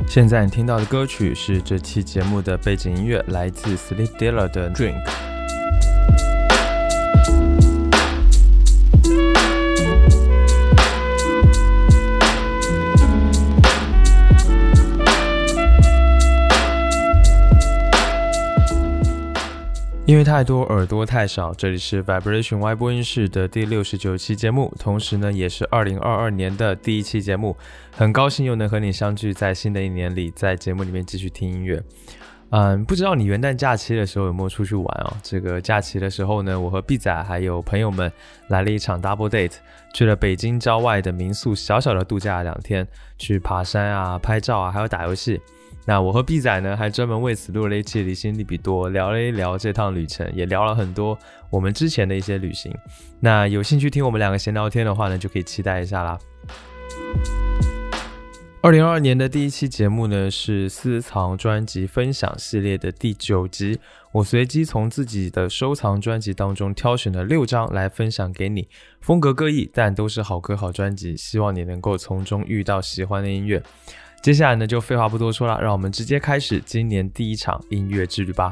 现在你听到的歌曲是这期节目的背景音乐，来自 Sleep Dealer 的 Drink。因为太多耳朵太少，这里是 Vibration Y 播音室的第69期节目，同时呢也是2022年的第一期节目，很高兴又能和你相聚在新的一年里，在节目里面继续听音乐。不知道你元旦假期的时候有没有出去玩哦？这个假期的时候呢，我和 B 仔还有朋友们来了一场 double date， 去了北京郊外的民宿小小的度假2天，去爬山啊、拍照啊，还有打游戏。那我和 B 仔呢，还专门为此录了一期离心利比多，聊了一聊这趟旅程，也聊了很多我们之前的一些旅行。那有兴趣听我们2个闲聊天的话呢，就可以期待一下啦。2022年的第一期节目呢，是私藏专辑分享系列的第9集。我随机从自己的收藏专辑当中挑选了6张来分享给你，风格各异，但都是好歌好专辑，希望你能够从中遇到喜欢的音乐。接下来呢，就废话不多说了，让我们直接开始今年第一场音乐之旅吧。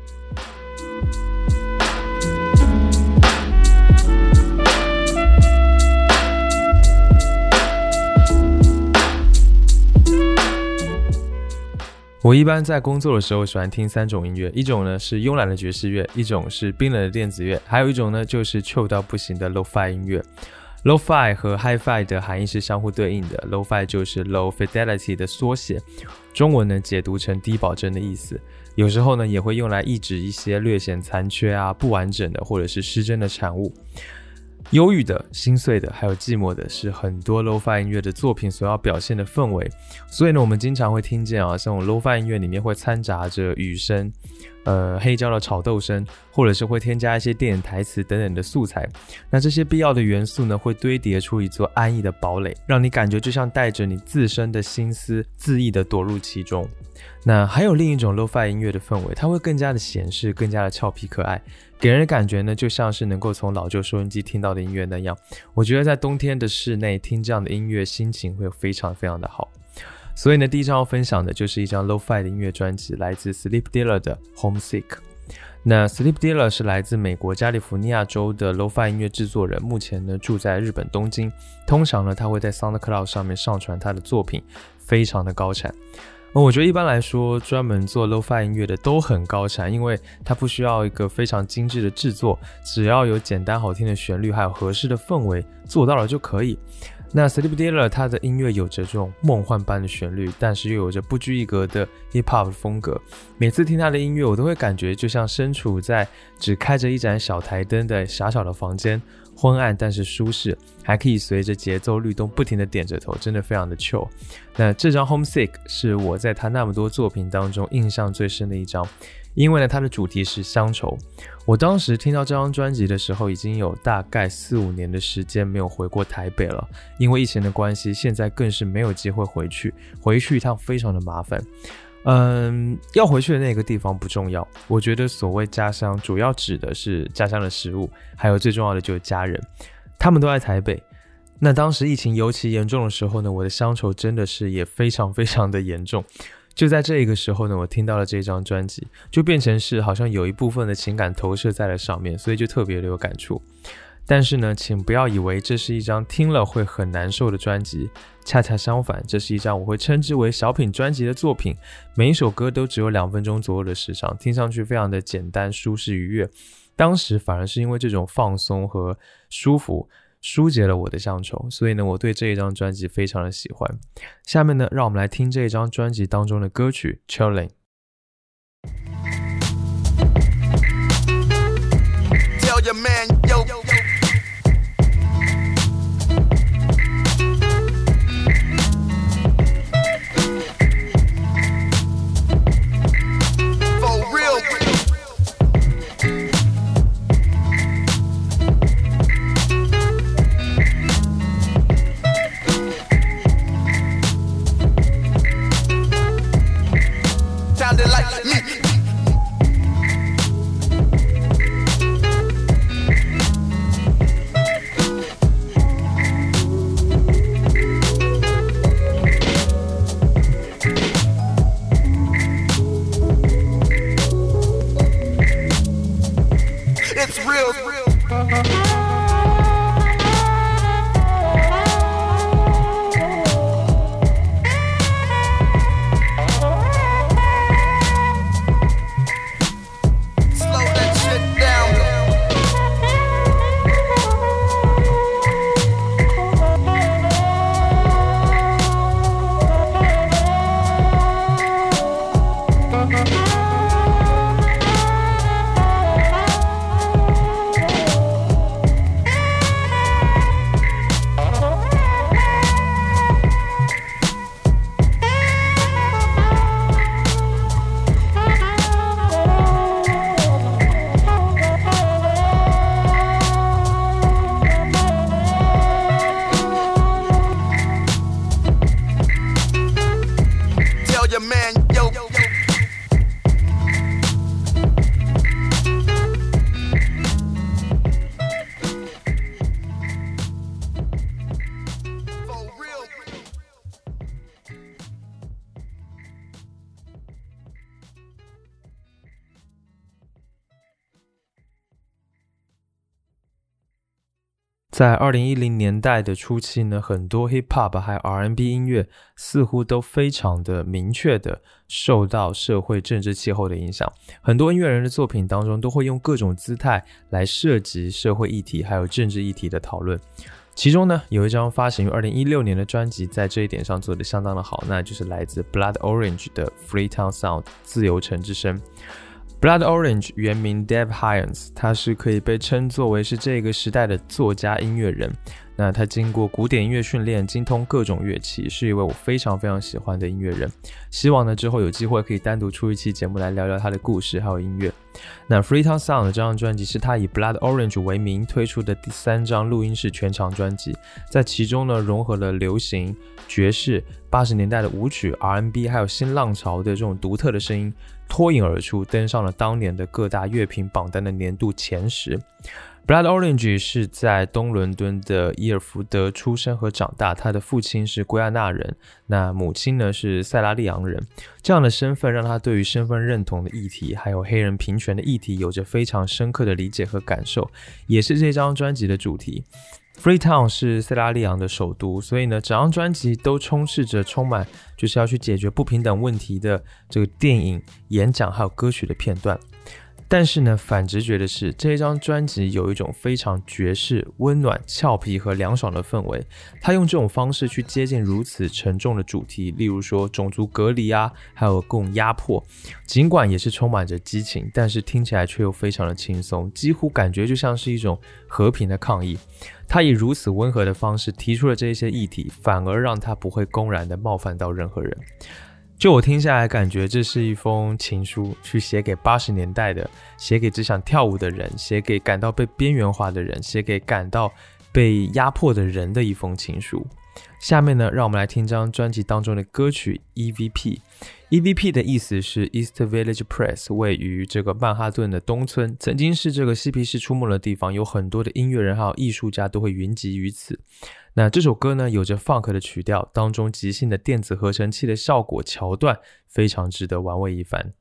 我一般在工作的时候喜欢听3种音乐，一种呢是慵懒的爵士乐，一种是冰冷的电子乐，还有一种呢就是chill到不行的 Lo-Fi 音乐。Lo-Fi 和 Hi-Fi 的含义是相互对应的， Lo-Fi 就是 Low Fidelity 的缩写，中文呢解读成低保真的意思，有时候呢也会用来意指一些略显残缺啊、不完整的或者是失真的产物。忧郁的、心碎的还有寂寞的是很多 Lo-Fi 音乐的作品所要表现的氛围，所以呢我们经常会听见啊，像 Lo-Fi 音乐里面会掺杂着雨声、黑胶的炒豆声，或者是会添加一些电影台词等等的素材。那这些必要的元素呢，会堆叠出一座安逸的堡垒，让你感觉就像带着你自身的心思恣意的躲入其中。那还有另一种 Lo-Fi 音乐的氛围，它会更加的闲适，更加的俏皮可爱，给人的感觉呢，就像是能够从老旧收音机听到的音乐那样。我觉得在冬天的室内听这样的音乐，心情会非常非常的好。所以呢，第一张要分享的就是一张 Lo-Fi 的音乐专辑，来自 Sleep Dealer 的 Homesick。那 Sleep Dealer 是来自美国加利福尼亚州的 Lo-Fi 音乐制作人，目前呢住在日本东京。通常呢，他会在 SoundCloud 上面上传他的作品，非常的高产。我觉得一般来说，专门做 Lo-Fi 音乐的都很高产，因为它不需要一个非常精致的制作，只要有简单好听的旋律，还有合适的氛围，做到了就可以。那 Sleep Dealer 他的音乐有着这种梦幻般的旋律，但是又有着不拘一格的 hip hop 的风格。每次听他的音乐，我都会感觉就像身处在只开着一盏小台灯的狭小的房间，昏暗但是舒适，还可以随着节奏律动不停的点着头，真的非常的 chill。 那这张 Homesick 是我在他那么多作品当中印象最深的一张，因为呢它的主题是乡愁。我当时听到这张专辑的时候，已经有大概4-5年的时间没有回过台北了，因为疫情的关系，现在更是没有机会回去一趟非常的麻烦。要回去的那个地方不重要，我觉得所谓家乡主要指的是家乡的食物，还有最重要的就是家人，他们都在台北。那当时疫情尤其严重的时候呢，我的乡愁真的是也非常非常的严重。就在这个时候呢，我听到了这张专辑，就变成是好像有一部分的情感投射在了上面，所以就特别的有感触。但是呢，请不要以为这是一张听了会很难受的专辑，恰恰相反，这是一张我会称之为小品专辑的作品。每一首歌都只有2分钟左右的时长，听上去非常的简单、舒适、愉悦。当时反而是因为这种放松和舒服，疏解了我的乡愁，所以呢，我对这一张专辑非常的喜欢。下面呢，让我们来听这一张专辑当中的歌曲 Chilling。Tell your man, yo. gets real. 在2010年代的初期呢，很多 hip hop 还有 R&B 音乐似乎都非常的明确的受到社会政治气候的影响。很多音乐人的作品当中都会用各种姿态来涉及社会议题还有政治议题的讨论。其中呢，有一张发行于2016年的专辑在这一点上做得相当的好，那就是来自 Blood Orange 的 Freetown Sound 自由城之声。Blood Orange 原名 Dev Hynes， 他是可以被称作为是这个时代的作家音乐人。那他经过古典音乐训练，精通各种乐器，是一位我非常非常喜欢的音乐人。希望呢之后有机会可以单独出一期节目来聊聊他的故事还有音乐。那 Freetown Sound 这张专辑是他以 Blood Orange 为名推出的第3张录音室全长专辑，在其中呢融合了流行、爵士、80年代的舞曲、R&B 还有新浪潮的这种独特的声音，脱颖而出，登上了当年的各大乐评榜单的年度前10。Blood Orange 是在东伦敦的伊尔福德出生和长大，他的父亲是圭亚那人，那母亲呢是塞拉利昂人。这样的身份让他对于身份认同的议题还有黑人平权的议题有着非常深刻的理解和感受，也是这张专辑的主题。Freetown 是塞拉利昂的首都，所以呢整张专辑都充满就是要去解决不平等问题的这个电影、演讲还有歌曲的片段。但是呢，反直觉的是，这一张专辑有一种非常爵士、温暖、俏皮和凉爽的氛围。他用这种方式去接近如此沉重的主题，例如说种族隔离啊，还有各种压迫。尽管也是充满着激情，但是听起来却又非常的轻松，几乎感觉就像是一种和平的抗议。他以如此温和的方式提出了这些议题，反而让他不会公然的冒犯到任何人。就我听下来感觉这是一封情书，去写给80年代的，写给只想跳舞的人，写给感到被边缘化的人，写给感到被压迫的人的一封情书。下面呢，让我们来听这张专辑当中的歌曲 EVP。EVP 的意思是 East Village Press， 位于这个曼哈顿的东村，曾经是这个嬉皮士出没的地方，有很多的音乐人还有艺术家都会云集于此。那这首歌呢，有着 funk 的曲调，当中即兴的电子合成器的效果桥段非常值得玩味一番。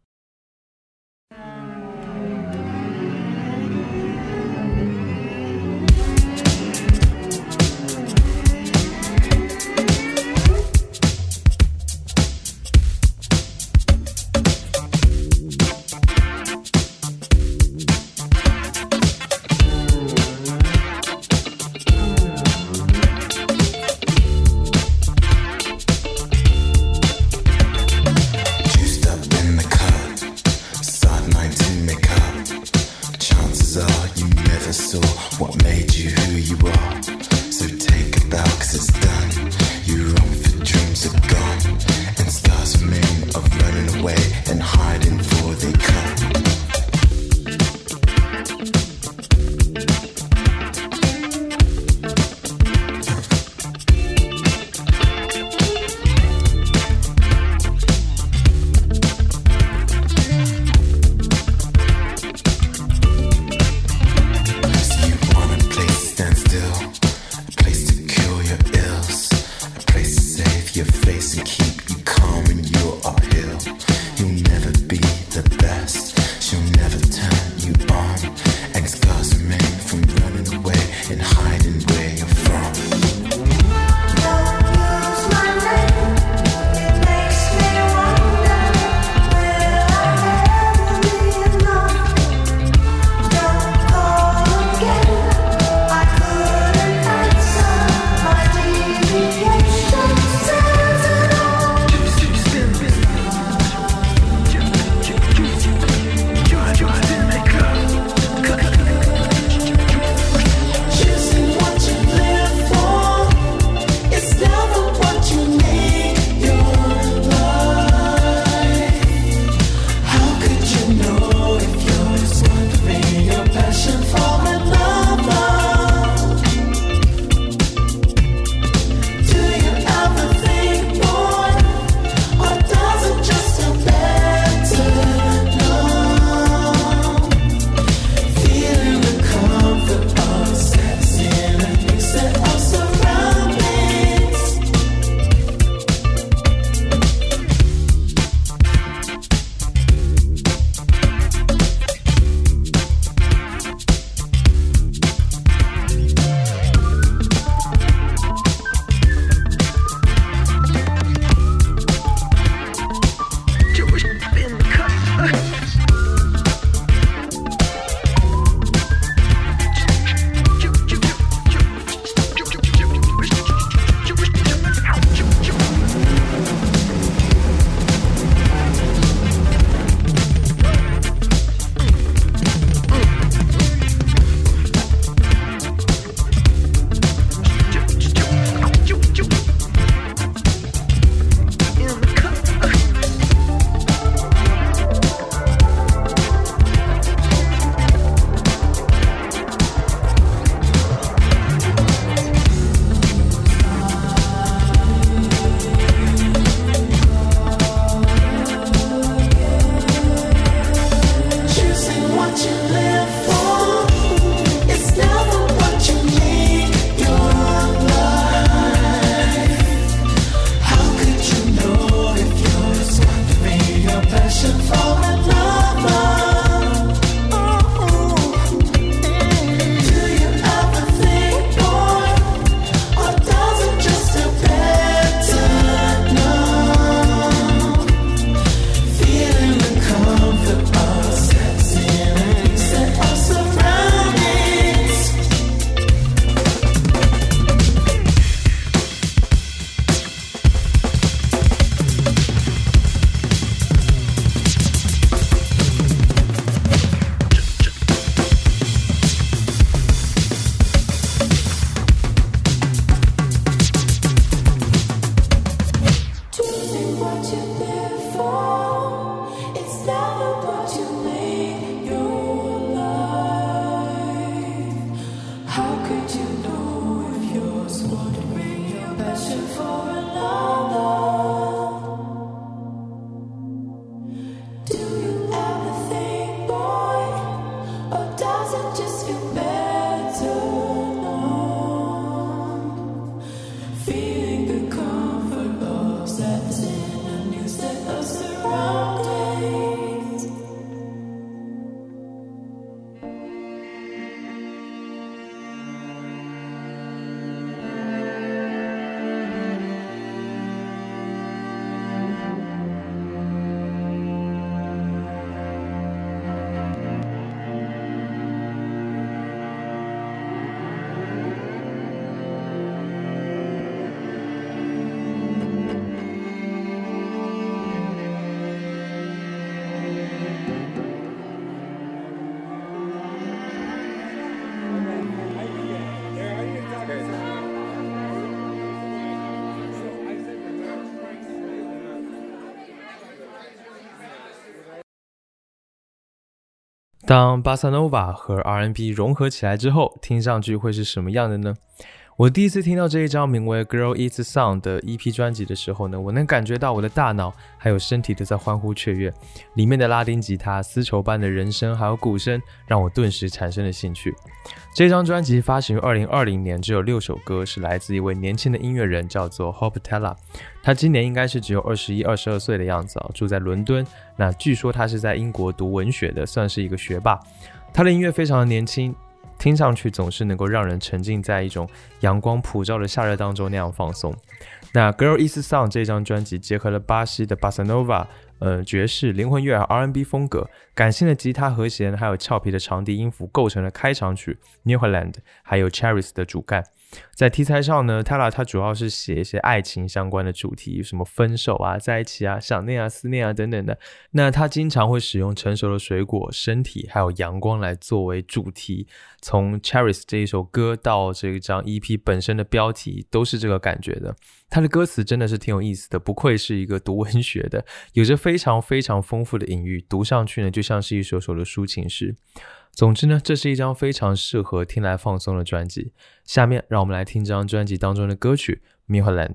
当 Bossa Nova 和 R&B 融合起来之后，听上去会是什么样的呢？我第一次听到这一张名为 Girl Eats Sun 的 EP 专辑的时候呢，我能感觉到我的大脑还有身体都在欢呼雀跃，里面的拉丁吉他、丝绸般的人声还有鼓声让我顿时产生了兴趣。这张专辑发行于2020年，只有6首歌，是来自一位年轻的音乐人，叫做 Hope Tella。 他今年应该是只有21、22岁的样子，住在伦敦。那据说他是在英国读文学的，算是一个学霸。他的音乐非常的年轻，听上去总是能够让人沉浸在一种阳光普照的夏日当中那样放松。那 Girl Eats Sun 这张专辑结合了巴西的 Bossa Nova、爵士、灵魂乐和 R&B 风格，感性的吉他和弦还有俏皮的长笛音符构成了开场曲 Newfoundland 还有 Cherries 的主干。在题材上呢， Tella 他主要是写一些爱情相关的主题，什么分手啊、在一起啊、想念啊、思念啊等等的。那他经常会使用成熟的水果、身体还有阳光来作为主题，从 Cherries 这一首歌到这张 EP 本身的标题都是这个感觉的。他的歌词真的是挺有意思的，不愧是一个读文学的，有着非常非常丰富的隐喻，读上去呢就像是一首首的抒情诗。总之呢，这是一张非常适合听来放松的专辑。下面让我们来听这张专辑当中的歌曲 Newfoundland。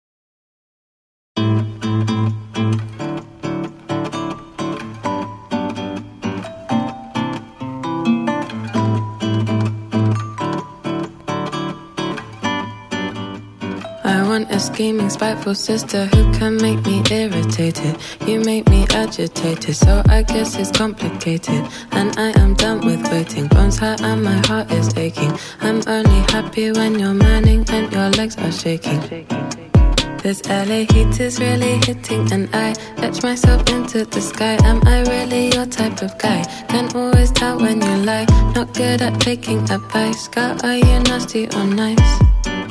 A scheming, spiteful sister who can make me irritated. You make me agitated, so I guess it's complicated. And I am done with waiting, bones hurt and my heart is aching. I'm only happy when you're manning and your legs are shaking. This LA heat is really hitting, and I etch myself into the sky. Am I really your type of guy? Can always tell when you lie. Not good at taking advice. Girl, are you nasty or nice?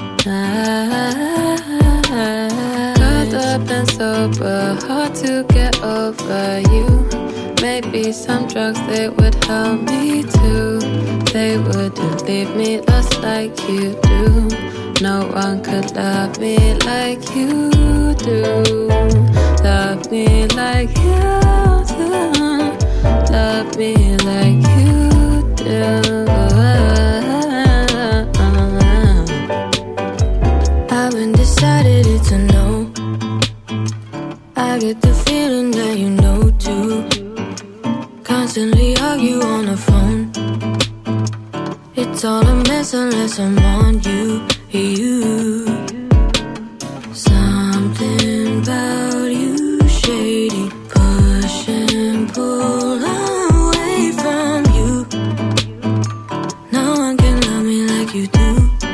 Caught up and sober, hard to get over you. Maybe some drugs, they would help me too. They wouldn't leave me lost like you do. No one could love me like you do. Love me like you do. Love me like you do. Decided it's a no. I get the feeling that you know too. Constantly argue on the phone. It's all a mess unless I'm on you. Something about you shady. Push and pull away from you. No one can love me like you do.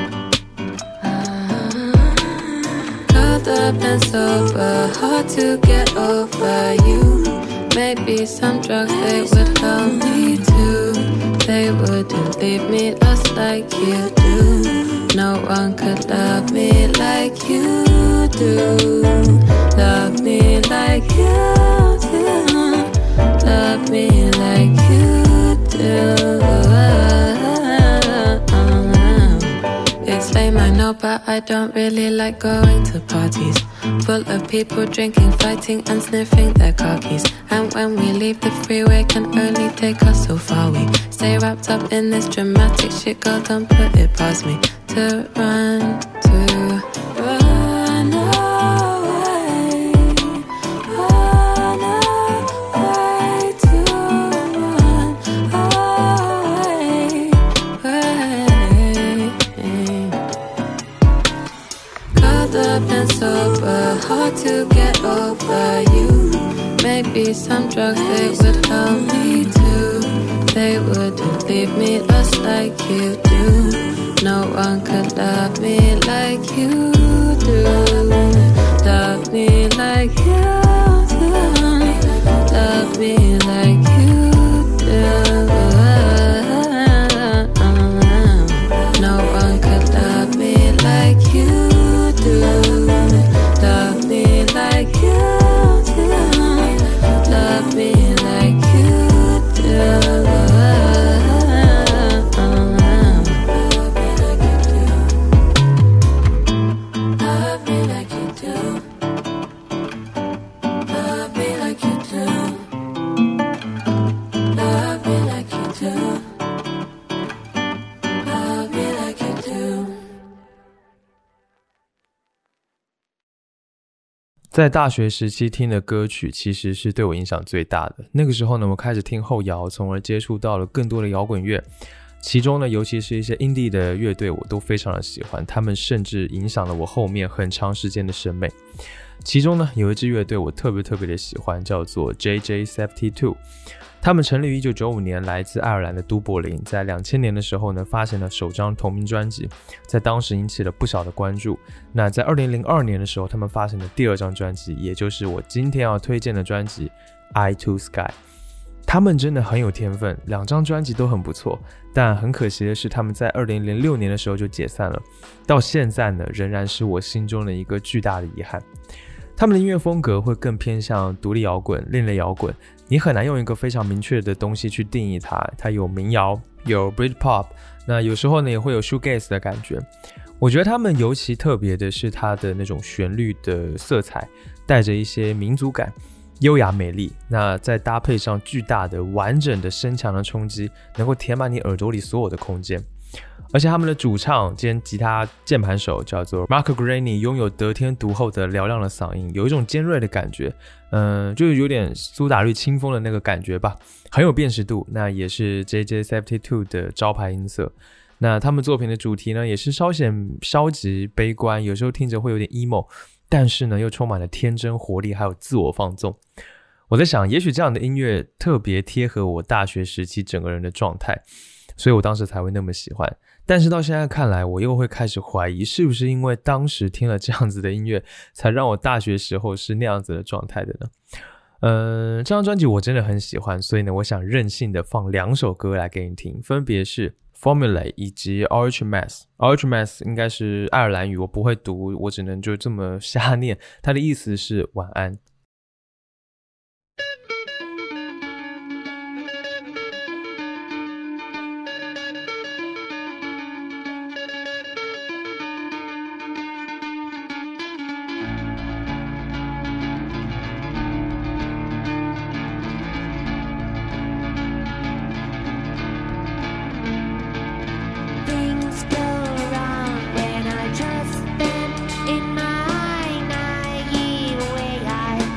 Up and sober, hard to get over you. Maybe some drugs, they would help me too. They wouldn't leave me lost like you do. No one could love me like you do. Love me like you do. Love me like you do. It's lame, I know, but I don't really like going to parties full of people drinking, fighting and sniffing their car keys. And when we leave, the freeway can only take us so far. We stay wrapped up in this dramatic shit, girl, don't put it past me. To run away, run away, to run away. Caught up and sober, hard to get over you. Maybe some drugs, they would help me too. They wouldn't leave me lost like you do. No one could love me like you do. Love me like you do. Love me like you do. No one could love me like you do. Love me like you do. Love me like you do. 在大学时期听的歌曲其实是对我影响最大的。那个时候呢，我开始听后摇，从而接触到了更多的摇滚乐。其中呢，尤其是一些 indie 的乐队，我都非常的喜欢，他们甚至影响了我后面很长时间的审美。其中呢，有一支乐队我特别的喜欢，叫做 JJ72。他们成立于1995年，来自爱尔兰的都柏林，在2000年的时候呢，发行了首张同名专辑，在当时引起了不小的关注。那在2002年的时候，他们发行了第二张专辑，也就是我今天要推荐的专辑 Eye to Sky。他们真的很有天分，两张专辑都很不错，但很可惜的是，他们在2006年的时候就解散了，到现在呢，仍然是我心中的一个巨大的遗憾。他们的音乐风格会更偏向独立摇滚、另类摇滚，你很难用一个非常明确的东西去定义它。它有民谣，有 Britpop， 那有时候呢也会有 Shoegaze 的感觉。我觉得他们尤其特别的是它的那种旋律的色彩，带着一些民族感，优雅美丽，那再搭配上巨大的完整的声强的冲击，能够填满你耳朵里所有的空间。而且他们的主唱兼吉他键盘手叫做 Mark Greaney， 拥有得天独厚的嘹亮的嗓音，有一种尖锐的感觉，就是有点苏打绿清风的那个感觉吧，很有辨识度。那也是 JJ72 的招牌音色。那他们作品的主题呢，也是稍显消极悲观，有时候听着会有点 emo， 但是呢又充满了天真活力，还有自我放纵。我在想，也许这样的音乐特别贴合我大学时期整个人的状态，所以我当时才会那么喜欢。但是到现在看来，我又会开始怀疑，是不是因为当时听了这样子的音乐，才让我大学时候是那样子的状态的呢？这张专辑我真的很喜欢，所以呢，我想任性的放2首歌来给你听，分别是 Formulae 以及 Orange Mass。Orange Mass 应该是爱尔兰语，我不会读，我只能就这么瞎念，它的意思是晚安。 In my naive way, I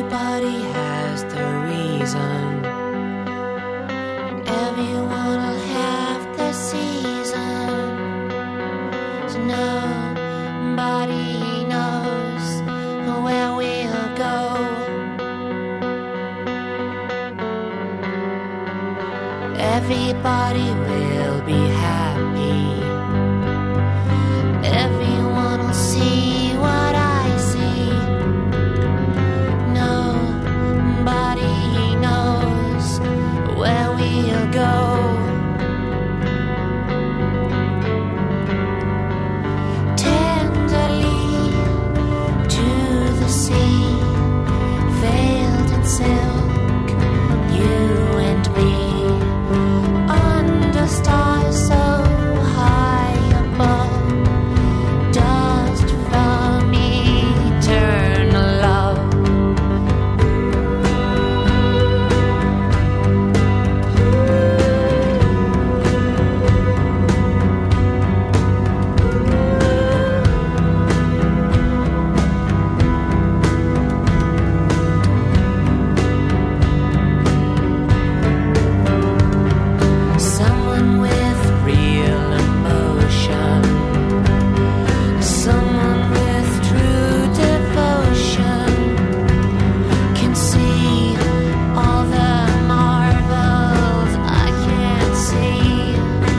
Everybody has their reason. Everyone will have their season. So nobody knows where we'll go. Everybody will be happy. Everyone will see what I see. Nobody knows where we'll go. Tenderly to the sea, veiled in silk, you and me, under stars so high above, dust from eternal love. Someone with real emotion, someone with true devotion, can see all the marvels I can't see.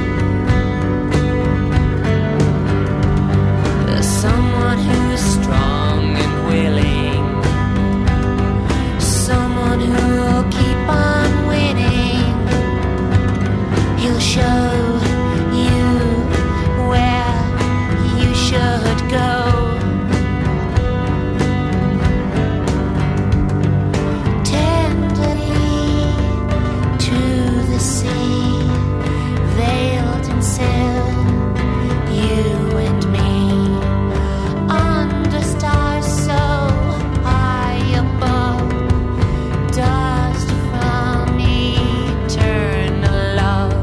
There's someone who's strong and willing, someone who'll keep on winning. He'll show you where you should go. Tenderly to the sea, veiled in silk, you and me, under stars so high above, dust from eternal love.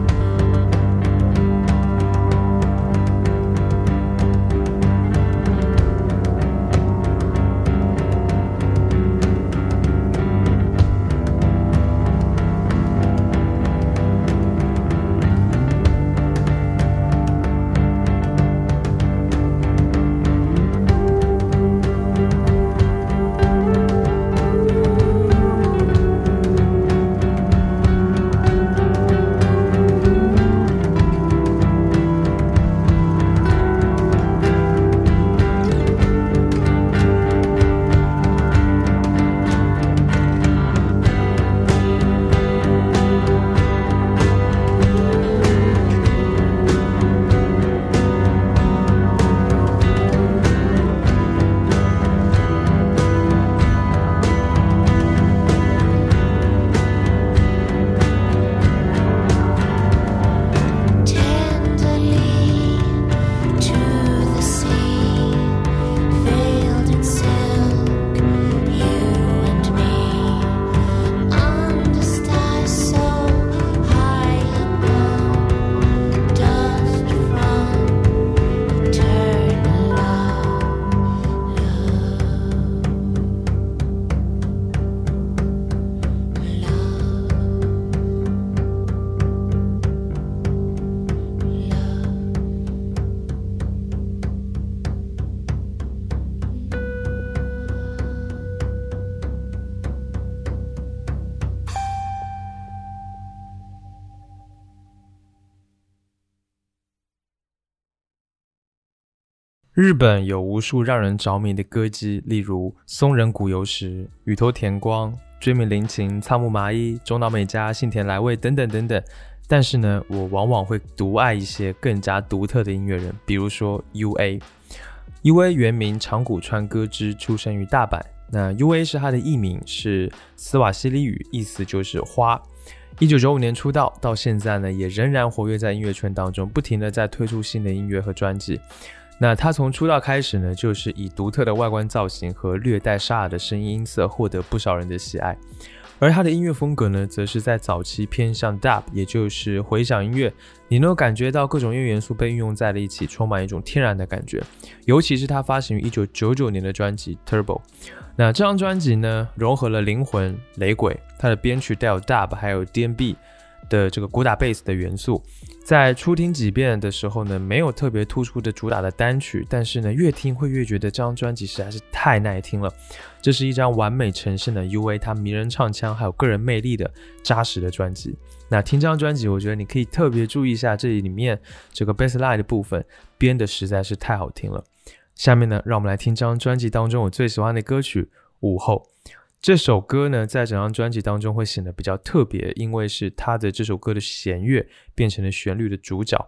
Tenderly to the sea, veiled in silk, you and me, under stars so high above, dust from eternal love. 日本有无数让人着迷的歌姬，例如松仁谷由实、宇多田光、追名林檎、仓木麻衣、中岛美嘉、幸田来未等等等等。但是呢，我往往会独爱一些更加独特的音乐人，比如说 UA。UA 原名长谷川歌之，出生于大阪。那 UA 是他的艺名，是斯瓦西里语，意思就是花。1995年出道，到现在呢，也仍然活跃在音乐圈当中，不停的在推出新的音乐和专辑。那他从出道开始呢，就是以独特的外观造型和略带沙哑的声音音色获得不少人的喜爱。 而他的音乐风格呢，则是在早期偏向 dub， 也就是回响音乐，你能够感觉到各种音乐元素被运用在了一起，充满一种天然的感觉。尤其是他发行于1999年的专辑 Turbo， 那这张专辑呢，融合了灵魂、雷鬼，它的编曲带有 dub 还有 D&B 的这个鼓打贝斯的元素。在初听几遍的时候呢，没有特别突出的主打的单曲，但是呢，越听会越觉得这张专辑实在是太耐听了。这是一张完美呈现了 UA 他迷人唱腔还有个人魅力的扎实的专辑。那听这张专辑，我觉得你可以特别注意一下这里面这个 bassline 的部分，编的实在是太好听了。下面呢，让我们来听这张专辑当中我最喜欢的歌曲《午后》。这首歌呢，在整张专辑当中会显得比较特别，因为是他的这首歌的弦乐变成了旋律的主角。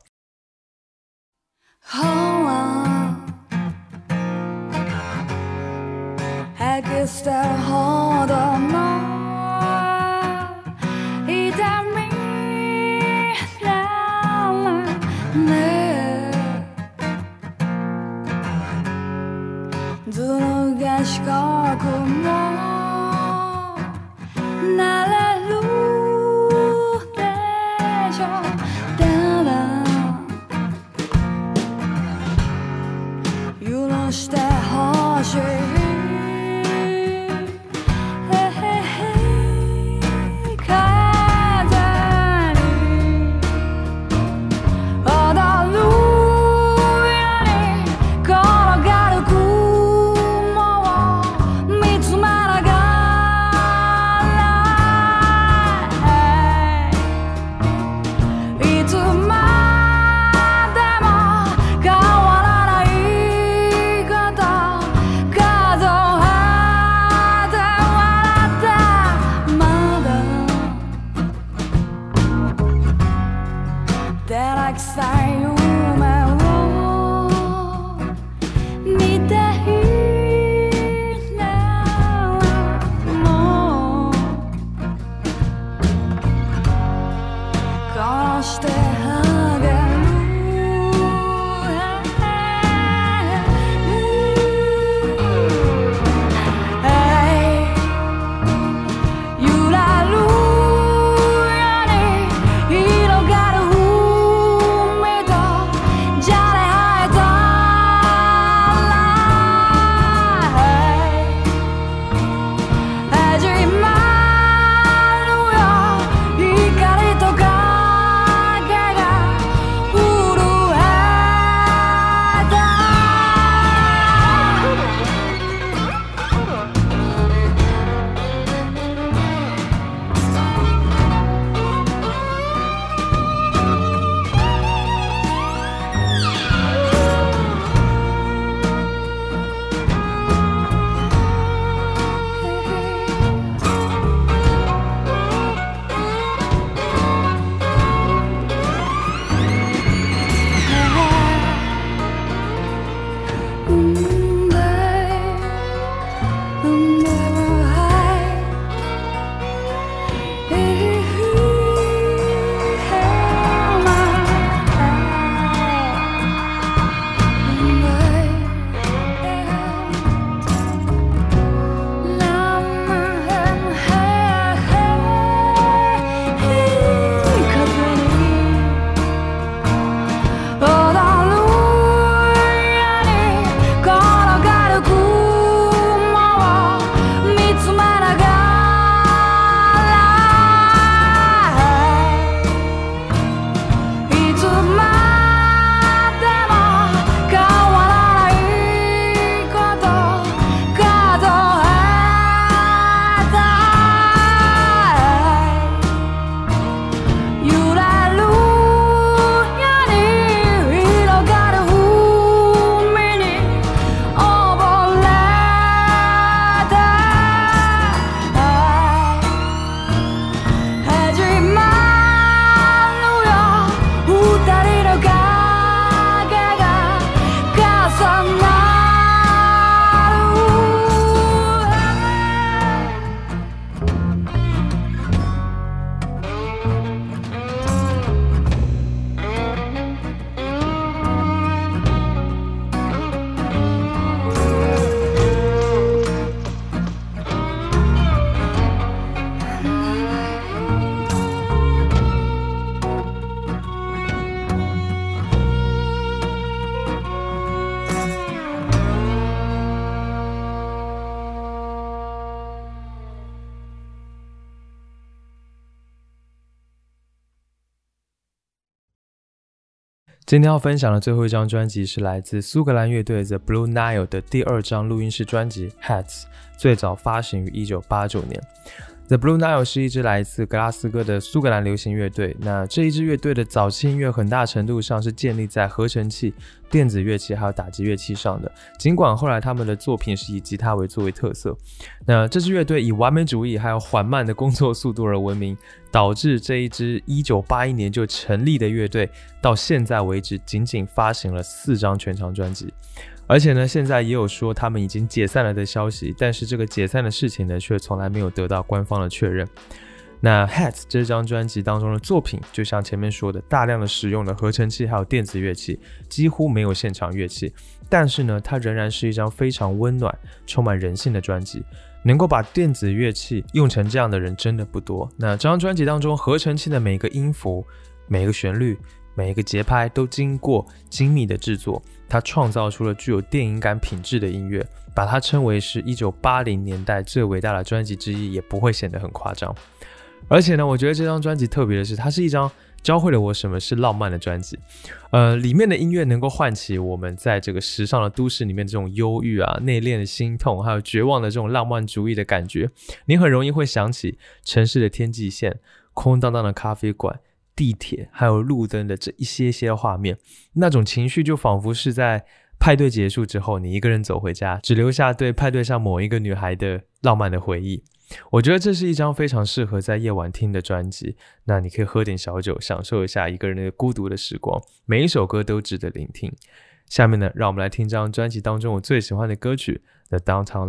今天要分享的最后一张专辑是来自苏格兰乐队 The Blue Nile 的第2张录音室专辑 Hats， 最早发行于1989年。The Blue Nile 是一支来自格拉斯哥的苏格兰流行乐队。那这一支乐队的早期音乐很大程度上是建立在合成器、电子乐器还有打击乐器上的，尽管后来他们的作品是以吉他作为特色。那这支乐队以完美主义还有缓慢的工作速度而闻名，导致这一支1981年就成立的乐队到现在为止仅仅发行了4张全长专辑。而且呢，现在也有说他们已经解散了的消息，但是这个解散的事情呢，却从来没有得到官方的确认。那 Hats 这张专辑当中的作品，就像前面说的，大量的使用了合成器还有电子乐器，几乎没有现场乐器，但是呢，它仍然是一张非常温暖、充满人性的专辑。能够把电子乐器用成这样的人真的不多。那这张专辑当中，合成器的每个音符、每个旋律、每一个节拍都经过精密的制作，它创造出了具有电影感品质的音乐，把它称为是1980年代最伟大的专辑之一，也不会显得很夸张。而且呢，我觉得这张专辑特别的是，它是一张教会了我什么是浪漫的专辑。里面的音乐能够唤起我们在这个时尚的都市里面这种忧郁啊、内敛的心痛，还有绝望的这种浪漫主义的感觉。你很容易会想起城市的天际线、空荡荡的咖啡馆、地铁还有路灯的这一些画面，那种情绪就仿佛是在派对结束之后，你一个人走回家，只留下对派对上某一个女孩的浪漫的回忆。我觉得这是一张非常适合在夜晚听的专辑，那你可以喝点小酒，享受一下一个人的孤独的时光，每一首歌都值得聆听。下面呢，让我们来听这张专辑当中我最喜欢的歌曲 The Downtown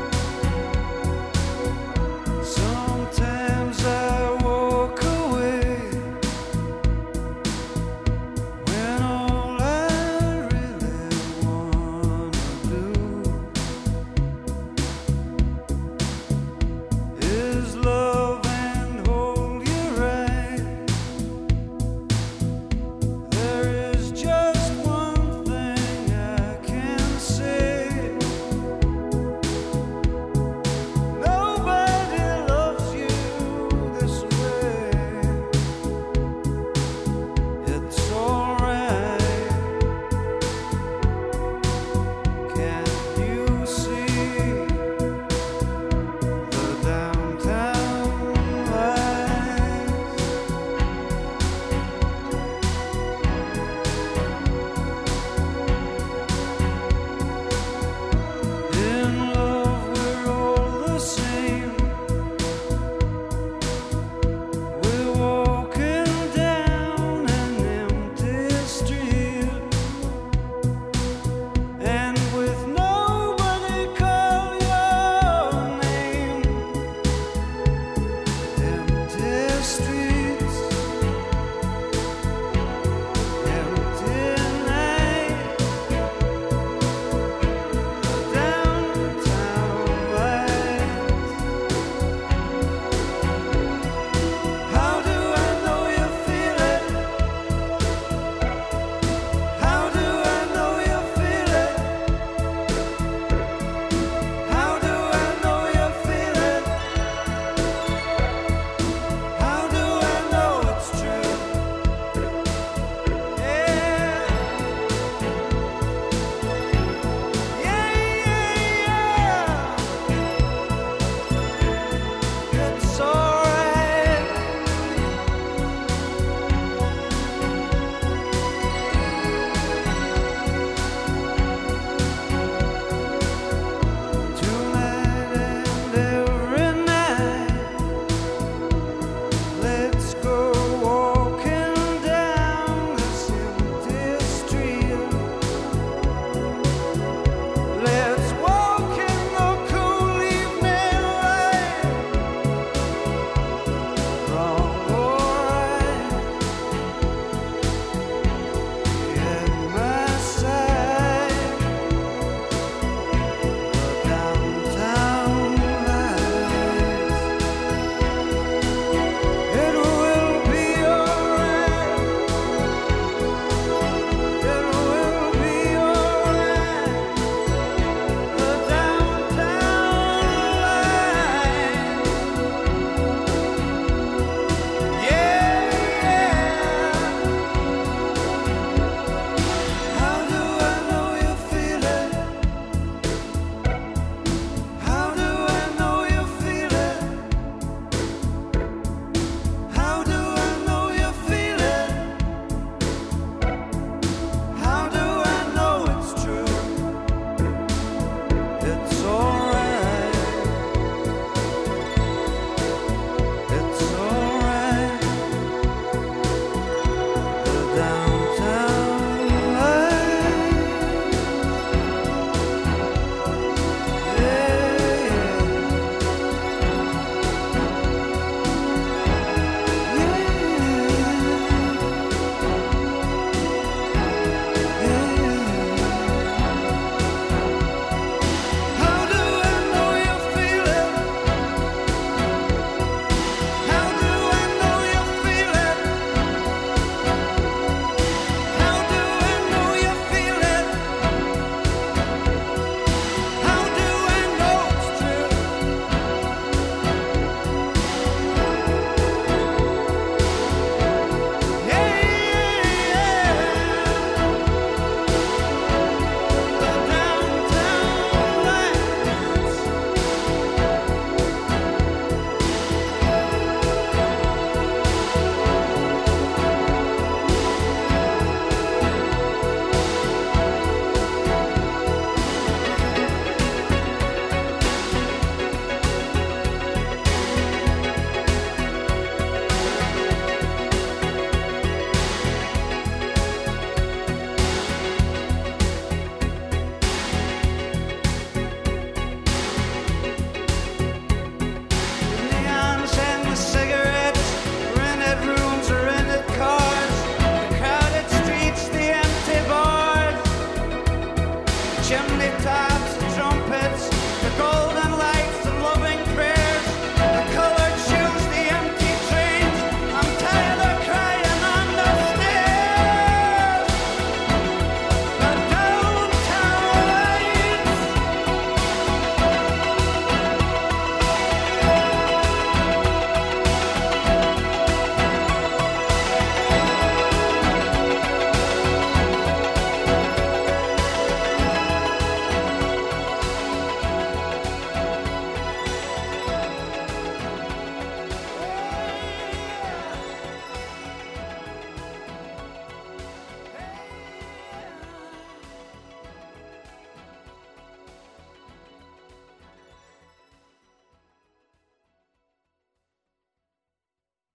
Lights。Sometimes I walk away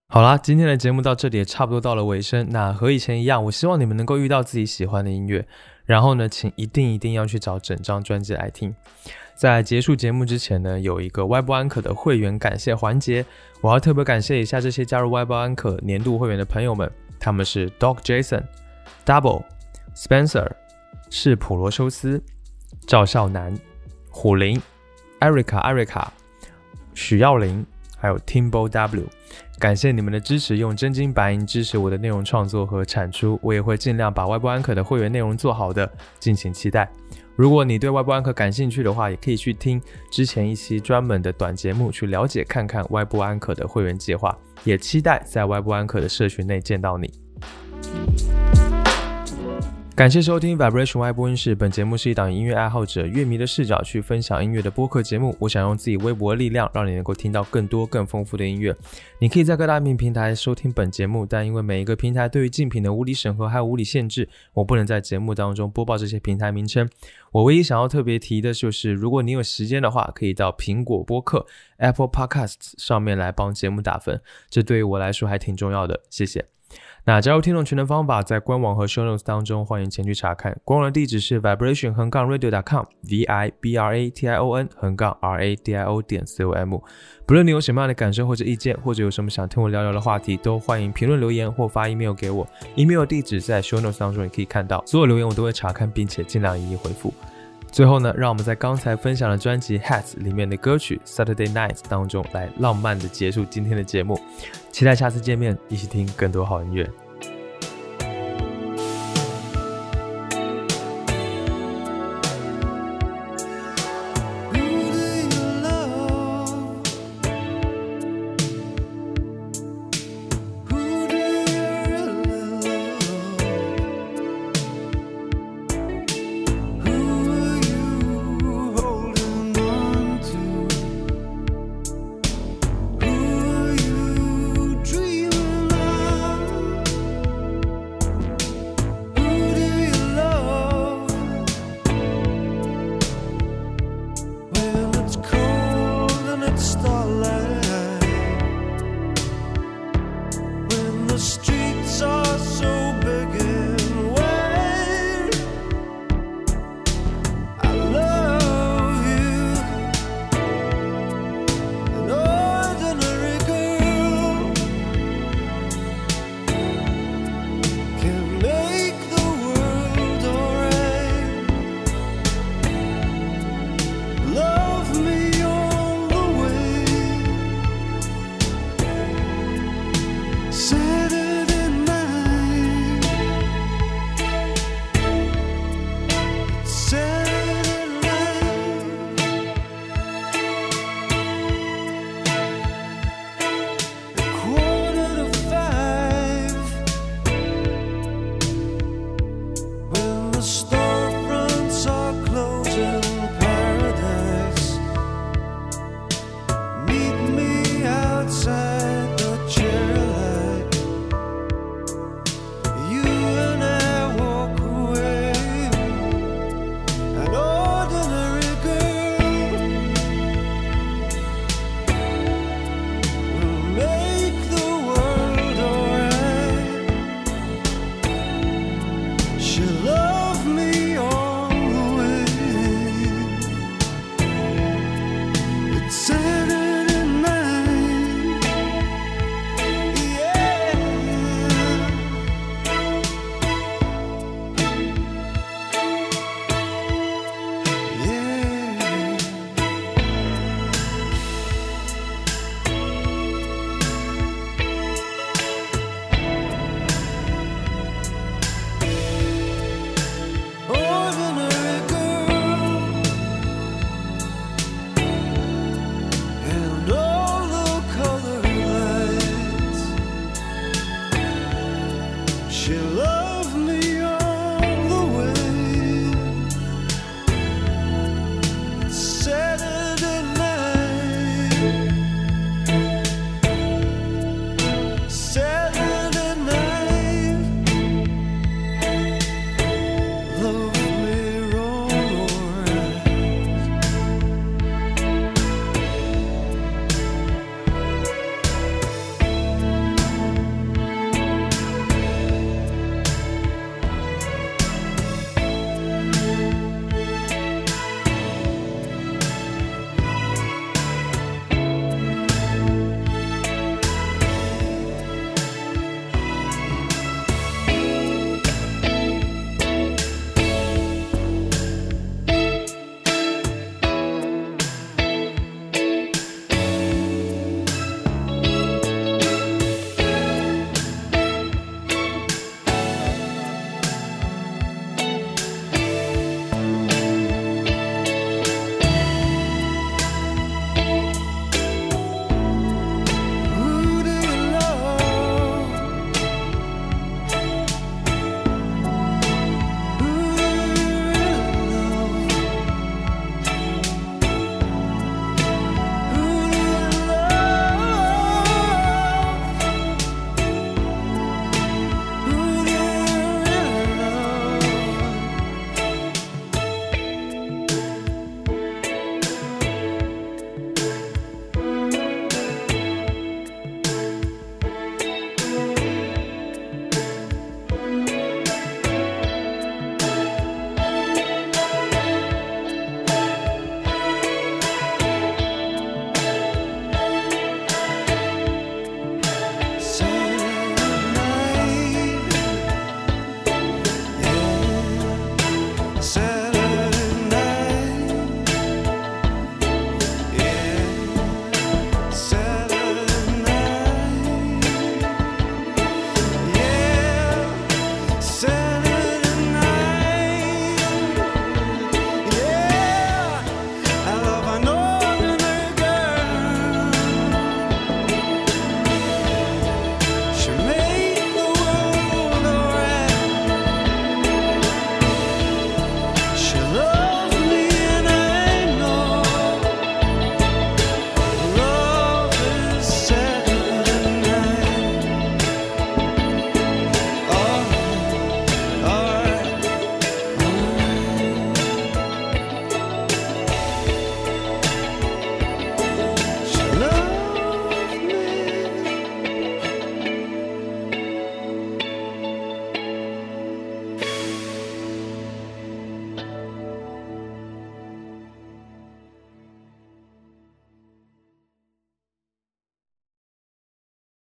好啦，今天的节目到这里也差不多到了尾声。那和以前一样，我希望你们能够遇到自己喜欢的音乐，然后呢，请一定要去找整张专辑来听。在结束节目之前呢，有一个歪播安可的会员感谢环节，我要特别感谢一下这些加入歪播安可年度会员的朋友们，他们是 Doc Jason、Double、Spencer、是普罗修斯、赵少南、虎林、艾瑞卡、许耀林，还有 Timbo W。感谢你们的支持，用真金白银支持我的内容创作和产出，我也会尽量把歪播安可的会员内容做好的，敬请期待。如果你对歪播安可感兴趣的话，也可以去听之前一期专门的短节目，去了解看看歪播安可的会员计划，也期待在歪播安可的社群内见到你。感谢收听 Vibration Y 播音室，本节目是一档音乐爱好者乐迷的视角去分享音乐的播客节目。我想用自己微薄的力量，让你能够听到更多更丰富的音乐。你可以在各大平台收听本节目，但因为每一个平台对于竞品的无理审核还有无理限制，我不能在节目当中播报这些平台名称。我唯一想要特别提的就是，如果你有时间的话，可以到苹果播客 Apple Podcasts 上面来帮节目打分，这对于我来说还挺重要的，谢谢。那加入听众群的方法在官网和 show notes 当中，欢迎前去查看。官网的地址是 vibration-radio.com vibration-radio.com。不论你有什么样的感受或者意见，或者有什么想听我聊聊的话题，都欢迎评论留言或发 email 给我。email 地址在 show notes 当中也可以看到，所有留言我都会查看，并且尽量一一回复。最后呢，让我们在刚才分享的专辑 Hats 里面的歌曲 Saturday Night 当中来浪漫的结束今天的节目，期待下次见面，一起听更多好音乐。 The streets are so